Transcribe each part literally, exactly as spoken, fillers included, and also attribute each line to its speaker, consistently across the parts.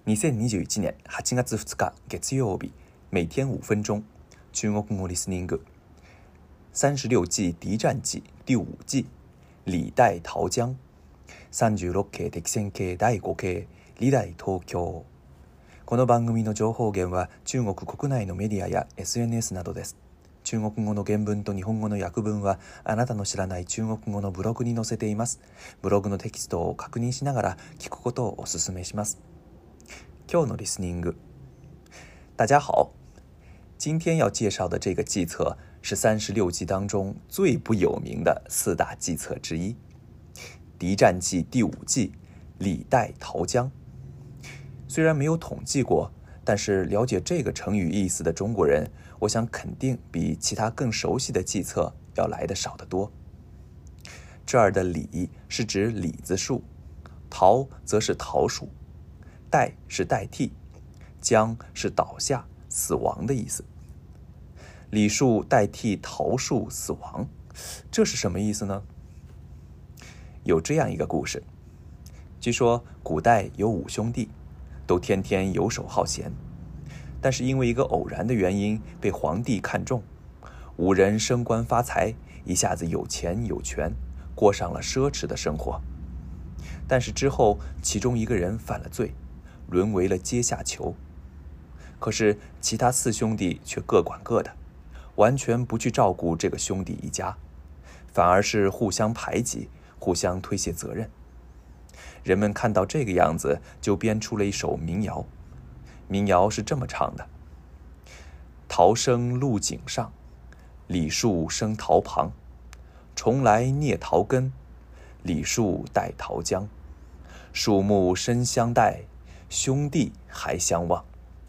Speaker 1: にせんにじゅういちねんはちがつふつか月曜日，每天五分钟，中国語リスニング。三十六计敌战記第五计，李代桃僵。三十六計敵戦系だいご計、李代東京。この番組の情報源は中国国内のメディアや エスエヌエス などです。中国語の原文と日本語の訳文はあなたの知らない中国語のブログに載せています。ブログのテキストを確認しながら聞くことをお勧めします。今日のリスニング。大家好，今天要介绍的这个计策是三十六计当中最不有名的四大计策之一，敌战计第五计，李代桃僵。虽然没有统计过，但是了解这个成语意思的中国人，我想肯定比其他更熟悉的计策要来得少得多。这儿的李是指李子树，桃则是桃树，代是代替，僵是倒下死亡的意思。李树代替桃树死亡，这是什么意思呢？有这样一个故事，据说古代有五兄弟，都天天游手好闲，但是因为一个偶然的原因被皇帝看中，五人升官发财，一下子有钱有权，过上了奢侈的生活。但是之后其中一个人犯了罪，沦为了阶下囚。可是其他四兄弟却各管各的，完全不去照顾这个兄弟一家，反而是互相排挤，互相推卸责任。人们看到这个样子，就编出了一首民谣。民谣是这么唱的：桃生露井上，李树生桃旁，重来孽桃根，李树代桃僵。树木深相待，兄弟还相望。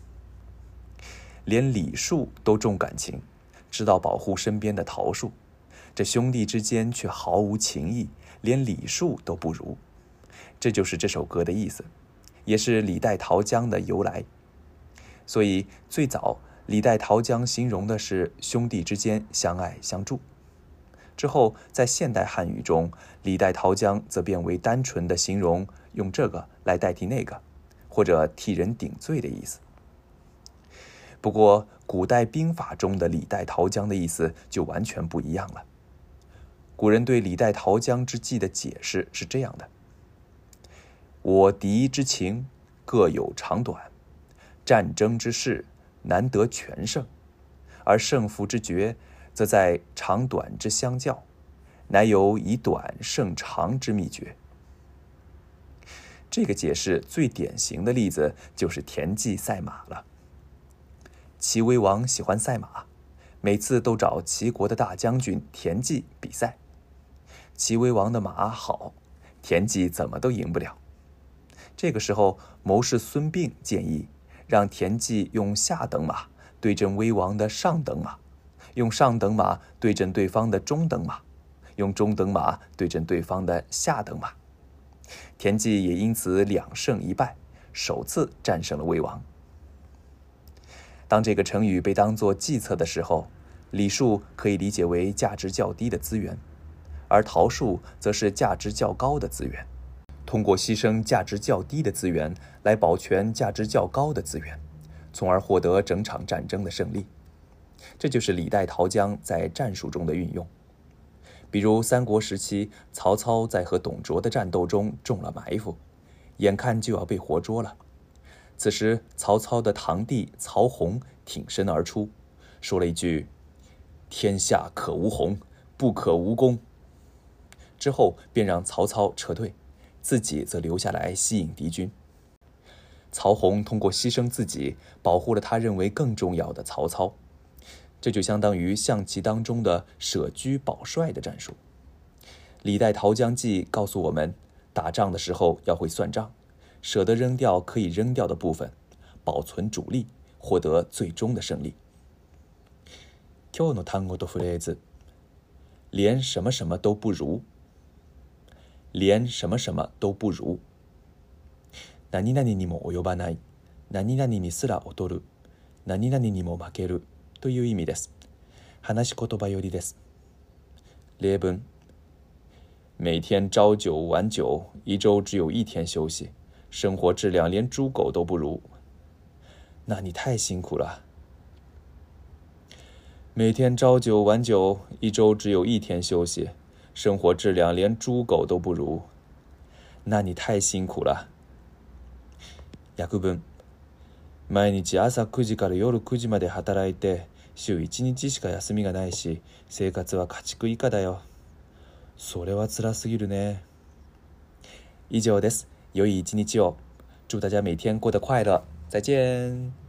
Speaker 1: 连李树都重感情，知道保护身边的桃树，这兄弟之间却毫无情义，连李树都不如。这就是这首歌的意思，也是李代桃僵的由来。所以最早李代桃僵形容的是兄弟之间相爱相助，之后在现代汉语中，李代桃僵则变为单纯的形容用这个来代替那个，或者替人顶罪的意思。不过古代兵法中的李代桃僵的意思就完全不一样了。古人对李代桃僵之计的解释是这样的：我敌之情各有长短，战争之事难得全胜，而胜负之决则在长短之相较，乃有以短胜长之秘诀。这个解释最典型的例子就是田忌赛马了。齐威王喜欢赛马，每次都找齐国的大将军田忌比赛。齐威王的马好，田忌怎么都赢不了。这个时候，谋士孙膑建议让田忌用下等马对阵威王的上等马，用上等马对阵对方的中等马，用中等马对阵对方的下等马。田忌也因此两胜一败，首次战胜了威王。当这个成语被当作计策的时候，李树可以理解为价值较低的资源，而桃树则是价值较高的资源。通过牺牲价值较低的资源来保全价值较高的资源，从而获得整场战争的胜利。这就是李代桃僵在战术中的运用。比如三国时期，曹操在和董卓的战斗中中了埋伏，眼看就要被活捉了。此时曹操的堂弟曹洪挺身而出，说了一句：天下可无洪，不可无公。之后便让曹操撤退，自己则留下来吸引敌军。曹洪通过牺牲自己，保护了他认为更重要的曹操。这就相当于象棋当中的舍车保帅的战术。李代桃僵计告诉我们，打仗的时候要会算账，舍得扔掉可以扔掉的部分，保存主力，获得最终的胜利。今日の単語とフレーズ。连什么什么都不如。连什么什么都不如。何々にも及ばない。何々にすら劣る。何々にも負ける。という意味です。話し言葉よりです。例文：每天朝九晚九，一周只有一天休息， 生活质量连猪狗都不如。那你太辛苦了。每天朝九晚九，一周只有一天休息，生活质量连猪狗都不如。那你太辛苦了。訳文。毎日朝くじから夜くじまで働いて、週いちにちしか休みがないし、生活は家畜以下だよ。それは辛すぎるね。以上です。良い一日を。祝大家每天过得快乐。再见。